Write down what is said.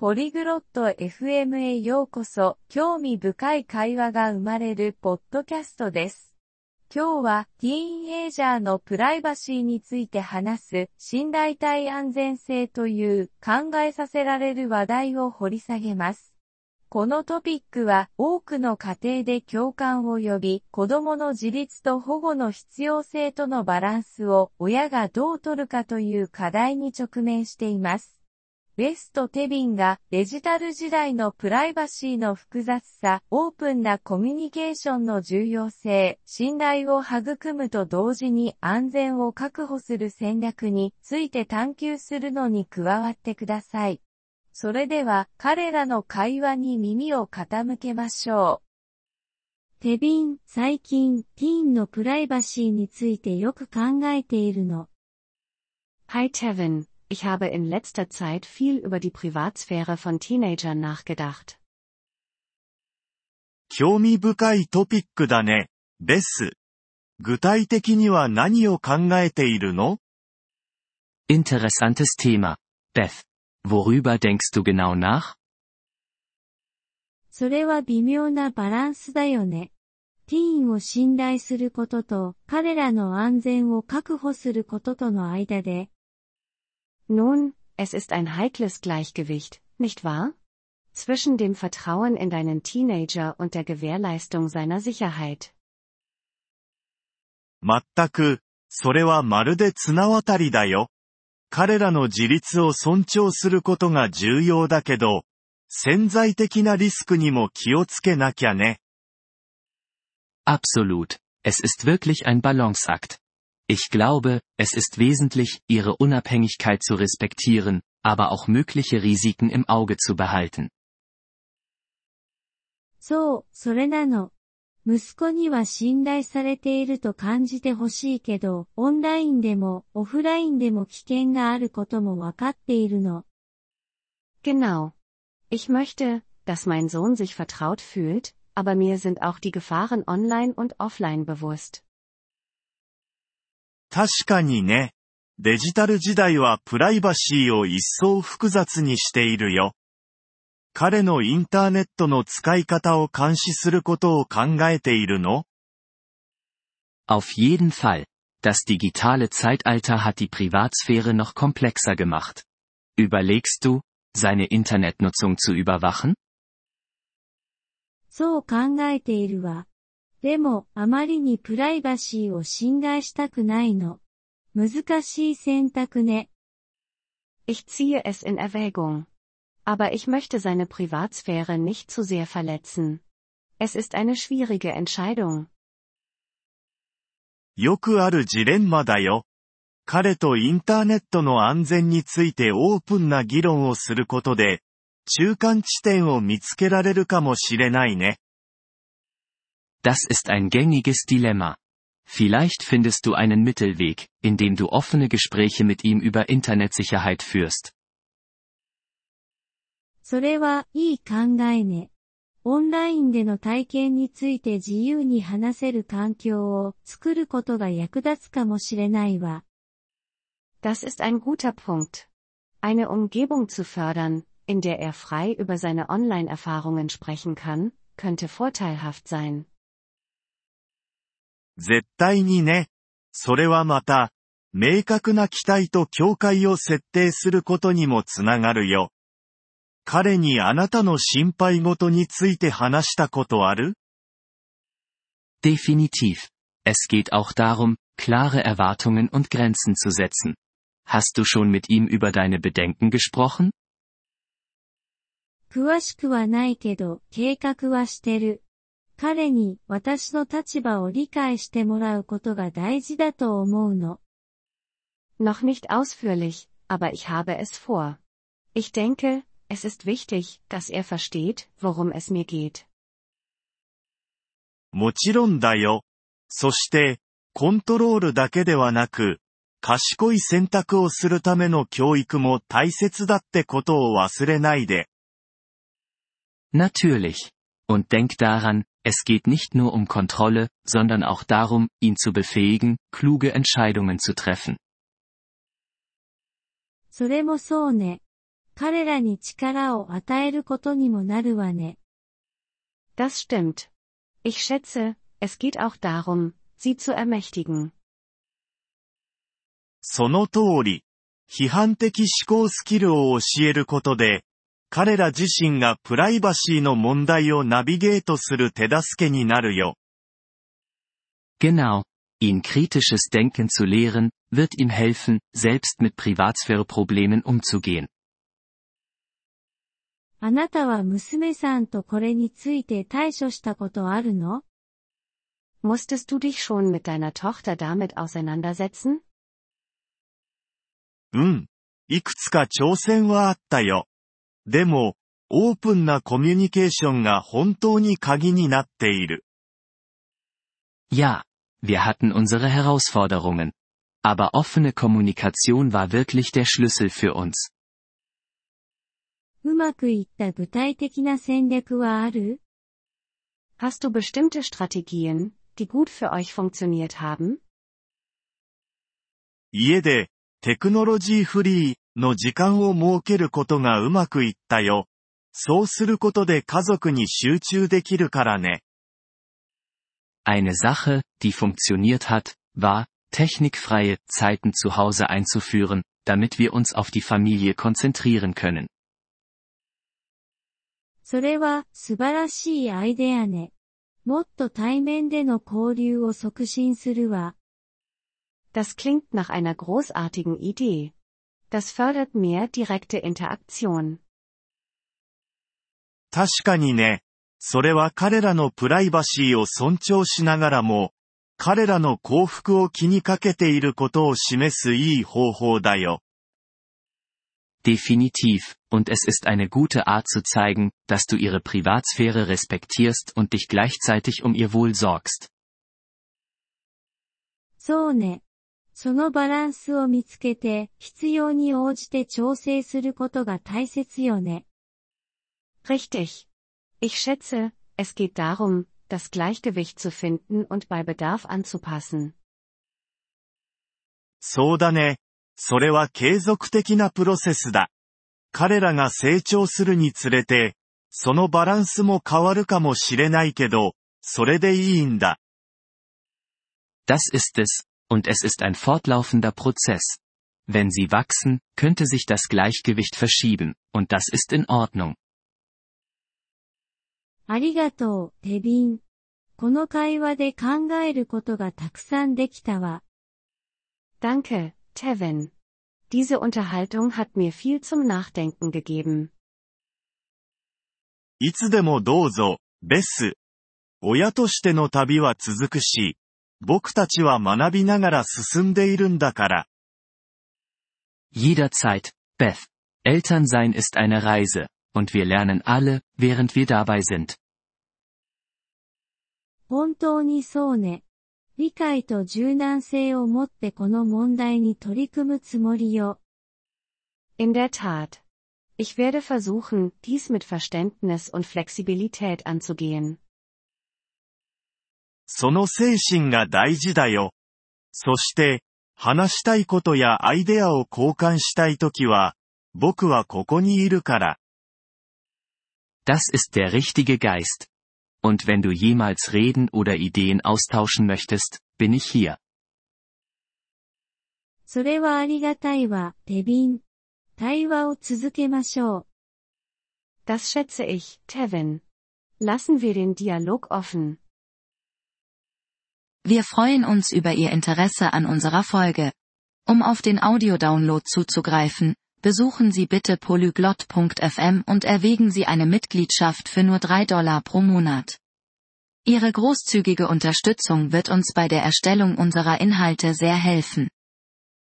ポリグロット FM へようこそ。興味深い会話が生まれるポッドキャストです。今日はティーンエイジャーのプライバシーについて話す新代替安全性という考えさせられる話題を掘り下げます。このトピックは多くの家庭で共感を呼び、子供の自立と保護の必要性とのバランスを親がどう取るかという課題に直面しています。ベスとテビンがデジタル時代のプライバシーの複雑さ、オープンなコミュニケーションの重要性、信頼を育むと同時に安全を確保する戦略について探求するのに加わってください。それでは彼らの会話に耳を傾けましょう。テビン、最近ティーンのプライバシーについてよく考えているの。 Hi Tevin.Ich habe in letzter Zeit viel über die Privatsphäre von Teenagern nachgedacht. 興味深いトピックだね、ベス。具体的には何を考えているの？ Interessantes Thema, Beth. Worüber denkst du genau nach? それは微妙なバランスだよね。ティーンを信頼することと彼らの安全を確保することとの間で。 Nun, es ist ein heikles Gleichgewicht, nicht wahr? Zwischen dem Vertrauen in deinen Teenager und der Gewährleistung seiner Sicherheit. 全く、それはまるで綱渡りだよ。彼らの自立を尊重することが重要だけど、潜在的なリスクにも気をつけなきゃね。 Absolut. Es ist wirklich ein Balanceakt.Ich glaube, es ist wesentlich, ihre Unabhängigkeit zu respektieren, aber auch mögliche Risiken im Auge zu behalten. そう、それなの。息子には信頼されていると感じてほしいけど、オンラインでもオフラインでも危険があることもわかっているの。 Genau. Ich möchte, dass mein Sohn sich vertraut fühlt, aber mir sind auch die Gefahren online und offline bewusst. 確かにね。デジタル時代はプライバシーを一層複雑にしているよ。彼のインターネットの使い方を監視することを考えているの？ Auf jeden Fall. Das digitale Zeitalter hat die Privatsphäre noch komplexer gemacht. Überlegst du, seine Internetnutzung zu überwachen? そう考えているわ。でも、あまりにプライバシーを侵害したくないの。難しい選択ね。 Ich ziehe es in Erwägung. Aber ich möchte seine Privatsphäre nicht zu sehr verletzen. Es ist eine schwierige Entscheidung. よくあるジレンマだよ。彼とインターネットの安全についてオープンな議論をすることで、中間地点を見つけられるかもしれないね。 Das ist ein gängiges Dilemma. Vielleicht findest du einen Mittelweg, indem du offene Gespräche mit ihm über Internetsicherheit führst. それはいい考えね。オンラインでの体験について自由に話せる環境を作ることが役立つかもしれないわ。 Das ist ein guter Punkt. Eine Umgebung zu fördern, in der er frei über seine Online-Erfahrungen sprechen kann, könnte vorteilhaft sein. 絶対にね。それはまた、明確な期待と境界を設定することにもつながるよ。彼にあなたの心配事について話したことある？ Definitiv. Es geht auch darum, klare Erwartungen und Grenzen zu setzen. Hast du schon mit ihm über deine Bedenken gesprochen? 詳しくはないけど、計画はしてる。彼に私の立場を理解してもらうことが大事だと思うの。 Noch nicht ausführlich, aber ich habe es vor. Ich denke, es ist wichtig, dass er versteht, worum es mir geht. もちろんだよ。そして、コントロールだけではなく、賢い選択をするための教育も大切だってことを忘れないで。 Natürlich. Und denk daran, es geht nicht nur um Kontrolle, sondern auch darum, ihn zu befähigen, kluge Entscheidungen zu treffen. それもそうね。 彼らに力を与えることにもなるわね。 Das stimmt. Ich schätze, es geht auch darum, sie zu ermächtigen. その通り、批判的思考スキルを教えることで、彼ら自身がプライバシーの問題をナビゲートする手助けになるよ。 Genau. Ihn kritisches Denken zu lehren, wird ihm helfen, selbst mit Privatsphäre-Problemen umzugehen. あなたは娘さんとこれについて対処したことあるの？ Musstest du dich schon mit deiner Tochter damit auseinandersetzen? いくつか挑戦はあったよ。でも、オープンなコミュニケーションが本当に鍵になっている。 Ja, wir hatten unsere Herausforderungen. Aber offene Kommunikation war wirklich der Schlüssel für uns. うまくいった具体的な戦略はある？ Hast du bestimmte Strategien, die gut für euch funktioniert haben? 家で、テクノロジーフリーの時間を設けることがうまくいったよ。そうすることで家族に集中できるからね。 Eine Sache, die funktioniert hat, war, technikfreie Zeiten zu Hause einzuführen, damit wir uns auf die Familie konzentrieren können. それは素晴らしいアイデアね。もっと対面での交流を促進するわ。 Das klingt nach einer großartigen Idee. Das fördert mehr direkte Interaktion. 確かにね。それは彼らのプライバシーを尊重しながらも、彼らの幸福を気にかけていることを示すいい方法だよ。 Definitiv, und es ist eine gute Art zu zeigen, dass du ihre Privatsphäre respektierst und dich gleichzeitig um ihr Wohl sorgst. そうね。そのバランスを見つけて、必要に応じて調整することが大切よね。 Richtig. Ich schätze, es geht darum, das Gleichgewicht zu finden und bei Bedarf anzupassen. そうだね。それは継続的なプロセスだ。彼らが成長するにつれて、そのバランスも変わるかもしれないけど、それでいいんだ。 Das ist es, und es ist ein fortlaufender Prozess. Wenn sie wachsen, könnte sich das Gleichgewicht verschieben, und das ist in Ordnung. ありがとう、テビン。この会話で考えることがたくさんできたわ。 Danke, Tevin. Diese Unterhaltung hat mir viel zum Nachdenken gegeben. いつでもどうぞ、ベス。親としての旅は続くし、僕たちは学びながら進んでいるんだから。 Jederzeit, Beth. Elternsein ist eine Reise, und wir lernen alle, während wir dabei sind. 本当にそうね。理解と柔軟性を持ってこの問題に取り組むつもりよ。 In der Tat. Ich werde versuchen, dies mit Verständnis und Flexibilität anzugehen. その精神が大事だよ。そして、話したいことやアイデアを交換したいときは、僕はここにいるから。 Das ist der richtige Geist. Und wenn du jemals reden oder Ideen austauschen möchtest, bin ich hier. それはありがたいわ、テビン。対話を続けましょう。 Das schätze ich, Tevin. Lassen wir den Dialog offen. Wir freuen uns über Ihr Interesse an unserer Folge. Um auf den Audiodownload zuzugreifen, besuchen Sie bitte polyglot.fm und erwägen Sie eine Mitgliedschaft für nur $3 pro Monat. Ihre großzügige Unterstützung wird uns bei der Erstellung unserer Inhalte sehr helfen.